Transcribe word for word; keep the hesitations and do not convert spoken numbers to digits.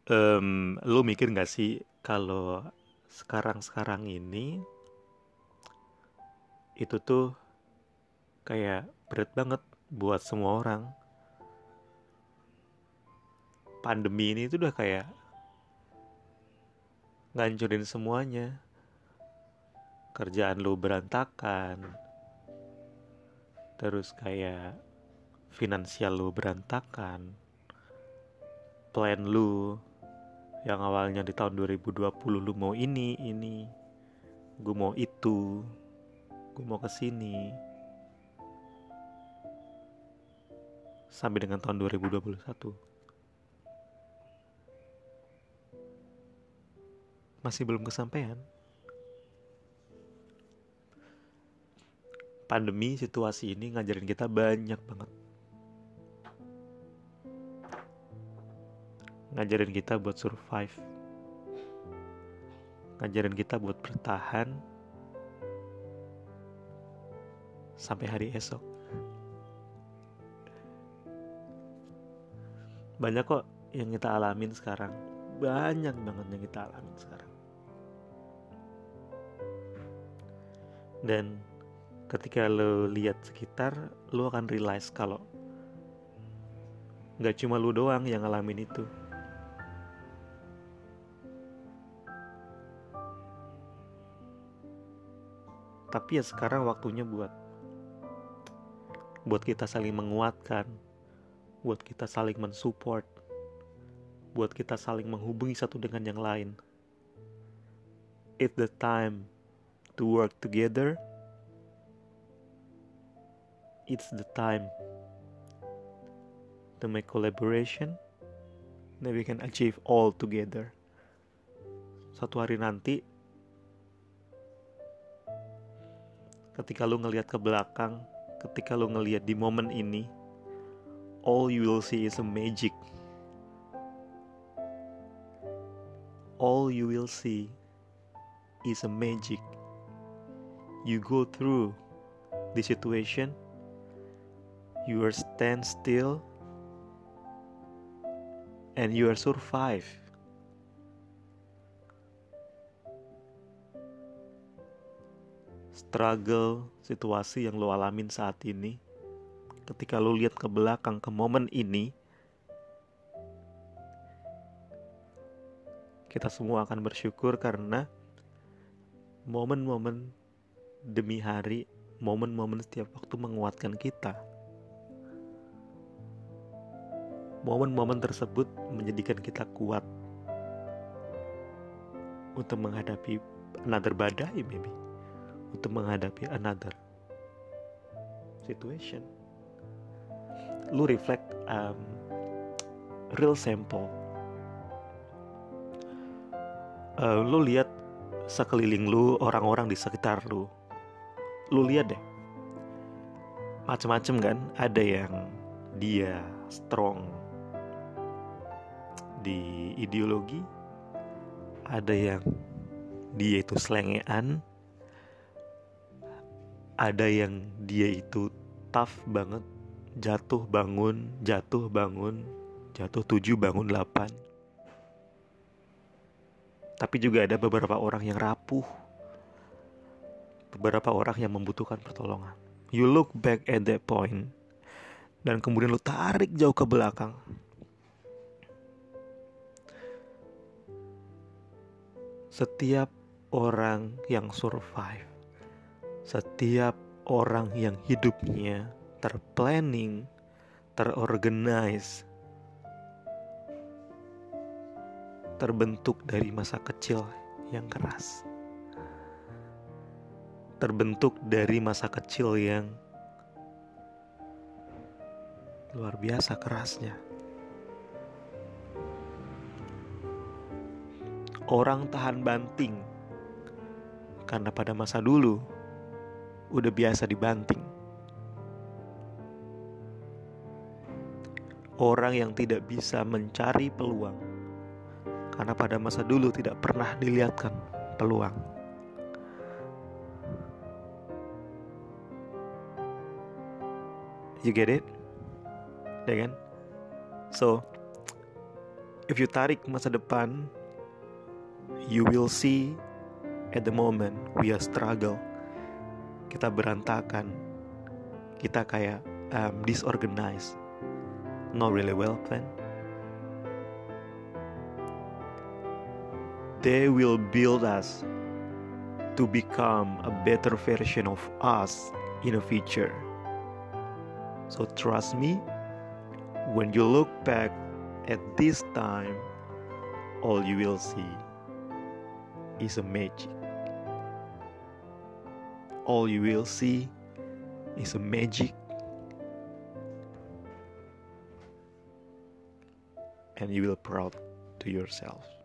Em, lu mikir gak sih kalau sekarang-sekarang ini itu tuh kayak berat banget buat semua orang. Pandemi ini tuh udah kayak ngancurin semuanya. Kerjaan lu berantakan, terus kayak finansial lu berantakan, plan lu yang awalnya di tahun dua ribu dua puluh lu mau ini, ini, gue mau itu, gue mau kesini, sampai dengan tahun dua ribu dua puluh satu masih belum kesampaian. Pandemi situasi ini ngajarin kita banyak banget. Ngajarin kita buat survive. Ngajarin kita buat bertahan sampai hari esok. Banyak kok yang kita alamin sekarang. Banyak banget yang kita alamin sekarang. Dan ketika lo lihat sekitar, lo akan realize kalau gak cuma lo doang yang ngalamin itu. Tapi ya sekarang waktunya buat buat kita saling menguatkan, buat kita saling mensupport, buat kita saling menghubungi satu dengan yang lain. It's the time to work together. It's the time to make collaboration that we can achieve all together. Suatu hari nanti, ketika lu ngelihat ke belakang, ketika lu ngelihat di momen ini, all you will see is a magic. All you will see is a magic. You go through the situation, you are stand still, and you are survive. Struggle, situasi yang lo alamin saat ini, ketika lo lihat ke belakang ke momen ini, kita semua akan bersyukur karena momen-momen demi hari, momen-momen setiap waktu menguatkan kita. Momen-momen tersebut menjadikan kita kuat untuk menghadapi another badai maybe, untuk menghadapi another situation. Lu reflect um, real sample. Uh, lu lihat sekeliling lu, orang-orang di sekitar lu. Lu lihat deh, macem-macem kan. Ada yang dia strong di ideologi, ada yang dia itu selengean, ada yang dia itu tough banget, jatuh bangun, jatuh bangun, jatuh tujuh bangun delapan. Tapi juga ada beberapa orang yang rapuh, beberapa orang yang membutuhkan pertolongan. You look back at that point, dan kemudian lu tarik jauh ke belakang. Setiap orang yang survive, setiap orang yang hidupnya terplanning, terorganize, terbentuk dari masa kecil yang keras, terbentuk dari masa kecil yang luar biasa kerasnya. Orang tahan banting karena pada masa dulu udah biasa dibanting. Orang yang tidak bisa mencari peluang karena pada masa dulu tidak pernah dilihatkan peluang. You get it? Ya kan? So, If you tarik masa depan, you will see at the moment we are struggle. Kita berantakan. Kita kayak um, disorganized. Not really well planned. They will build us to become a better version of us in the future. So trust me, when you look back at this time, all you will see is a magic. All you will see is a magic. And you will proud to yourself.